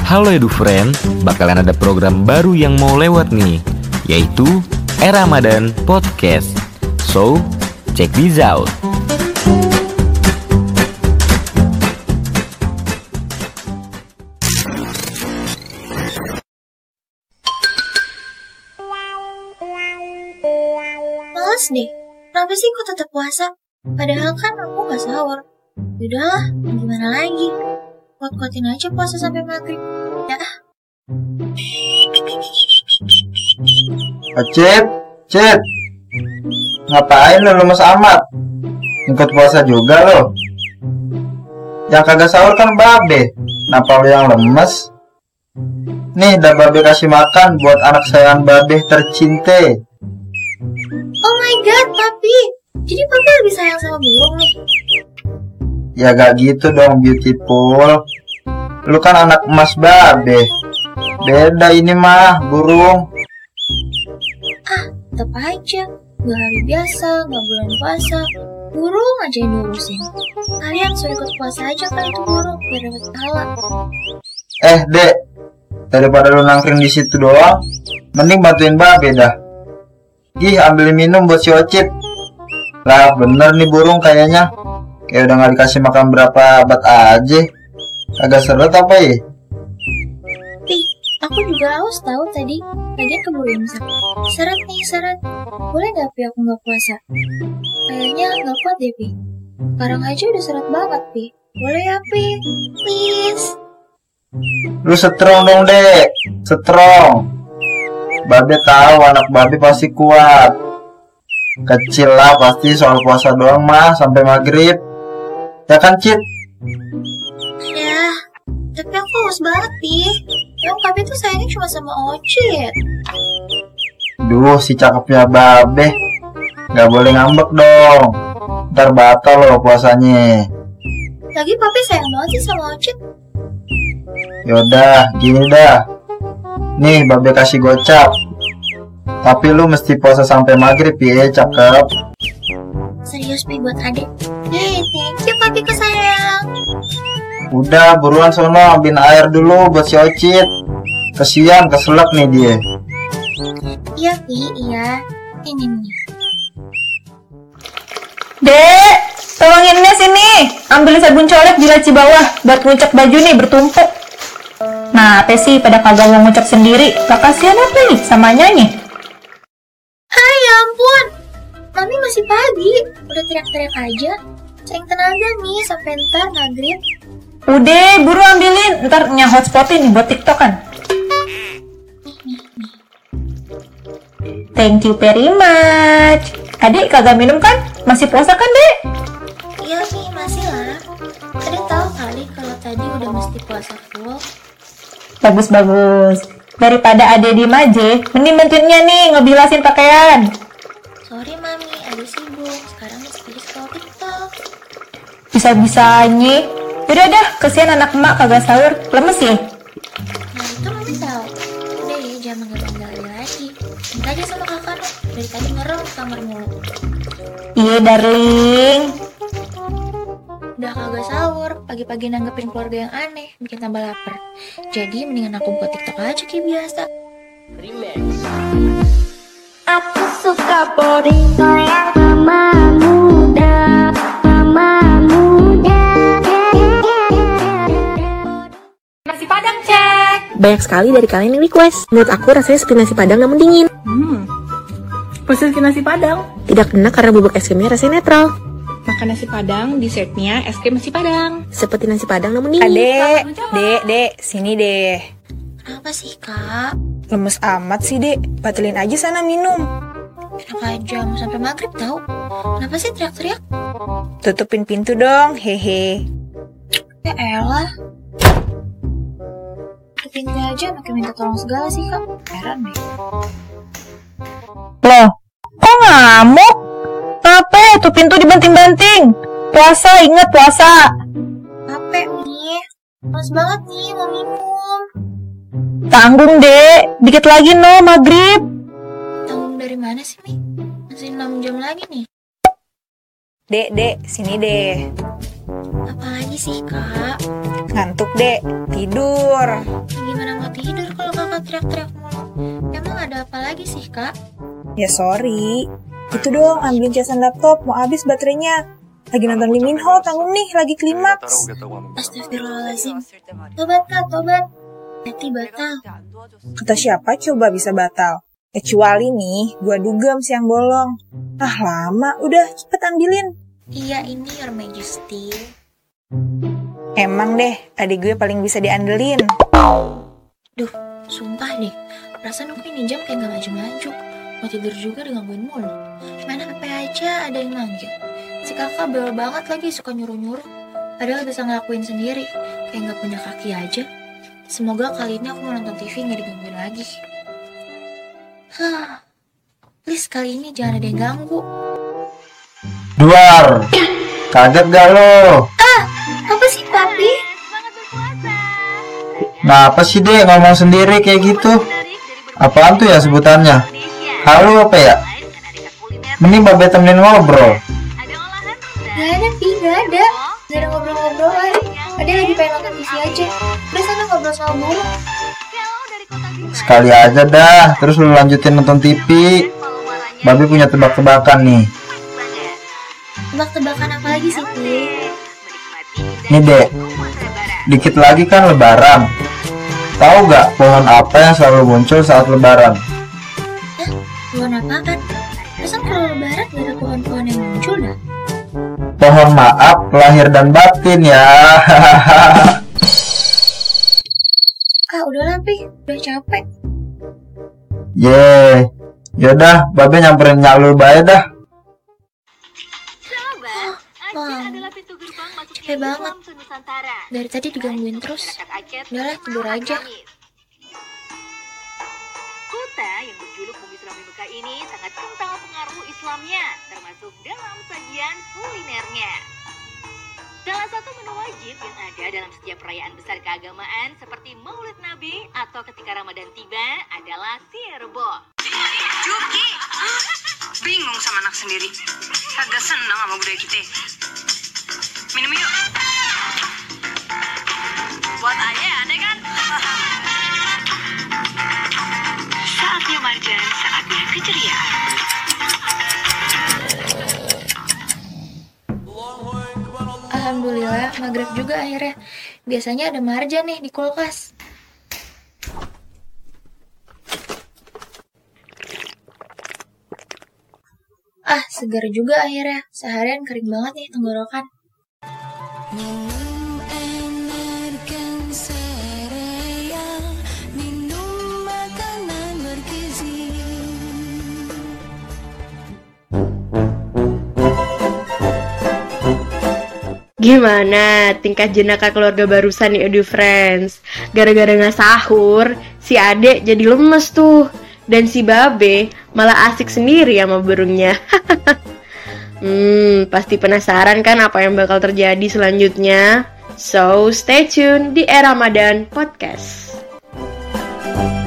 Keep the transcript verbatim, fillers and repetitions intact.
Halo Edu Friend, bakalan ada program baru yang mau lewat nih, yaitu E-Ramadan Podcast. So, check this out. Males deh, kenapa sih kok tetap puasa? Padahal kan aku gak sahur. Udahlah, gimana lagi? Kuat-kuatin aja puasa sampai maghrib. Ya. Cip, Cip, ngapain lo lemes amat? Ikut puasa juga lo? Yang kagak sahur kan babe. Kenapa lo yang lemes? Nih, udah babe kasih makan buat anak sayangan babe tercinta. Oh my god, papi. Jadi papi lebih sayang sama burung nih? Ya gak gitu dong, beautiful. Lu kan anak emas babe. Beda ini mah, burung. Ah, tetep aja. Gak hari biasa, gak bulan puasa. Burung aja yang diurusin. Kalian suruh ikut puasa aja kan itu burung, biar dapat pahala. Eh, Dek. Daripada lu nangkring di situ doang, mending bantuin babe dah. Ih, ambil minum buat si Ocit. Lah, bener nih burung kayaknya. Kayak udah gak dikasih makan berapa abad aja. Agak seret apa ya? Pi, aku juga haus tahu tadi. Lagian keburu imsak. Seret nih, seret. Boleh gak Pi aku gak puasa? Kayaknya gak kuat deh Pi. Sekarang aja udah seret banget Pi. Boleh ya Pi? Please. Lu strong dong, Dek. Strong. Babe tahu anak babe pasti kuat. Kecil lah pasti soal puasa doang mah sampai maghrib. Ya kan, Cit? Ya, tapi aku haus banget, Pi. Emang papi tuh sayangnya cuma sama Ocit. Duh, si cakepnya babe. Gak boleh ngambek dong. Ntar batal loh puasanya. Lagi papi sayang banget sih sama Ocit. Yaudah, gini dah. Nih, babe kasih gocap. Tapi lu mesti puasa sampai maghrib ya, cakep. Serius Pi buat adek. Hey, thank you papi kesayang. Udah, buruan sono ambilin air dulu buat si Ocit. Kesian, keselak nih dia. Iya Pi, iya. Ini nih. Dek, tolongin Nes ini. Ambil sabun colek di laci bawah buat ngucek baju nih bertumpuk. Nah, apa sih pada kagak mau ngucek sendiri? Gak kasihan apa nih sama nyanyi? Hai, ya ampun. Mami masih pagi. Udah teriak-teriak aja. Cari tenaga nih sampai ntar maghrib. Udah, buru ambilin. Ntar nya hotspotin nih buat TikTok kan. Thank you very much. Adik kagak minum kan? Masih puasa kan, Dek? Iya Pi, masih lah. Adek tahu kali kalau tadi udah mesti puasa full. Bagus-bagus. Daripada Ade diem aja, mending bantuinnya nih ngebilasin pakaian. Sorry Mami, Adek sibuk. Sekarang mesti scroll TikTok. Bisa-bisanya. Udah dah, kesian anak emak kagak sahur, lemes ya? Nah itu Mami tahu. Udah ya, jangan manggil-manggil lagi. Minta aja sama kakak dong. Dari tadi ngerem di kamar mulu. Iya darling. Udah kagak sahur, pagi-pagi nanggepin keluarga yang aneh, bikin tambah lapar. Jadi mendingan aku buat TikTok aja kayak biasa. Aku suka body yang mama muda, mama muda. Nasi padang cek. Banyak sekali dari kalian yang request. Menurut aku rasanya seperti nasi padang namun dingin. Hmm. Pesen ke nasi padang. Tidak kena karena bubuk es krimnya rasanya netral. Makan nasi padang, dessertnya es krim nasi padang. Seperti nasi padang namun dingin. Adek, dek, dek, sini deh. Kenapa sih kak? Lemes amat sih dek, batalin aja sana minum. Enak aja, mau sampai maghrib tau. Kenapa sih teriak-teriak? Tutupin pintu dong, hehe. Ya elah. Ke pintu aja pakai minta tolong segala sih kak. Heran deh. Loh, kok ngamuk? Kenapa tuh pintu dibanting-banting? Puasa, inget puasa. Capek nih. Males banget nih mau minum. Tanggung dek, dikit lagi no maghrib. Tanggung dari mana sih Mi? Masih enam jam lagi nih. Dek, dek, sini deh. Apalagi sih, Kak? Ngantuk, Dek. Tidur. Gimana mau tidur kalau kakak teriak-teriak mulu? Emang ada apa lagi sih, Kak? Ya sorry. Itu dong, ambilin casan laptop. Mau habis baterainya. Lagi nonton Lee Min Ho, tanggung nih. Lagi klimaks. Astagfirullahaladzim. Tobat, Kak, tobat. Hati batal. Kata siapa coba bisa batal? Kecuali nih, gua dugem siang bolong. Ah lama, udah cepet ambilin. Iya, ini Your Majesty. Emang deh, adik gue paling bisa diandelin. Duh, sumpah deh. Perasaan aku ini jam kayak gak maju-maju. Mau tidur juga digangguin mulu. Main H P aja ada yang manggil. Si kakak bawel banget lagi, suka nyuruh-nyuruh. Padahal bisa ngelakuin sendiri. Kayak gak punya kaki aja. Semoga kali ini aku mau nonton T V gak digangguin lagi. Hah, please kali ini jangan ada yang ganggu. Duar, kaget gak lo? Ah, apa sih papi? Ngapa sih dek ngomong sendiri kayak gitu? Apaan tuh ya sebutannya? Halo apa ya? Mending babe temenin ngobrol. Gak ada Pi, gak ada. Gak ada ngobrol-ngobrolan. Ada lagi pengen nonton T V aja. Udah sana ngobrol sama burung. Sekali aja dah, terus lu lanjutin nonton T V. Babe punya tebak-tebakan nih. Tebak-tebakan apa lagi sih, Pi? Nih dek, dikit lagi kan lebaran. Tahu gak pohon apa yang selalu muncul saat lebaran? Hah? Pohon apaan? Masa kalau lebaran gak ada pohon-pohon yang muncul dah? Pohon maaf lahir dan batin ya. Ah, udahlah Pi, udah capek. Ye, yaudah, babe nyamperin nyalur bae dah. Wah, capek banget. Dari tadi digangguin terus. Udahlah, tidur aja. Kota yang berjuluk Bumi Sulam Mekah ini sangat kental pengaruh Islamnya, termasuk dalam sajian kulinernya. Salah satu menu wajib yang ada dalam setiap perayaan besar keagamaan seperti Maulid Nabi atau ketika Ramadan tiba adalah sirbo. Juki, bingung sama anak sendiri. Kagak senang sama budaya kita. Minum yuk. Buat ayah aneh kan? Saatnya Marjan, saatnya keceriaan. Alhamdulillah, maghrib juga akhirnya. Biasanya ada marjan nih di kulkas. Ah, segar juga akhirnya. Seharian kering banget nih tenggorokan. Gimana tingkah jenaka keluarga barusan nih Edu Friends? Gara-gara gak sahur, si adek jadi lemes tuh. Dan si babe malah asik sendiri sama burungnya. Hmm, pasti penasaran kan apa yang bakal terjadi selanjutnya? So, stay tune di Era Ramadan Podcast.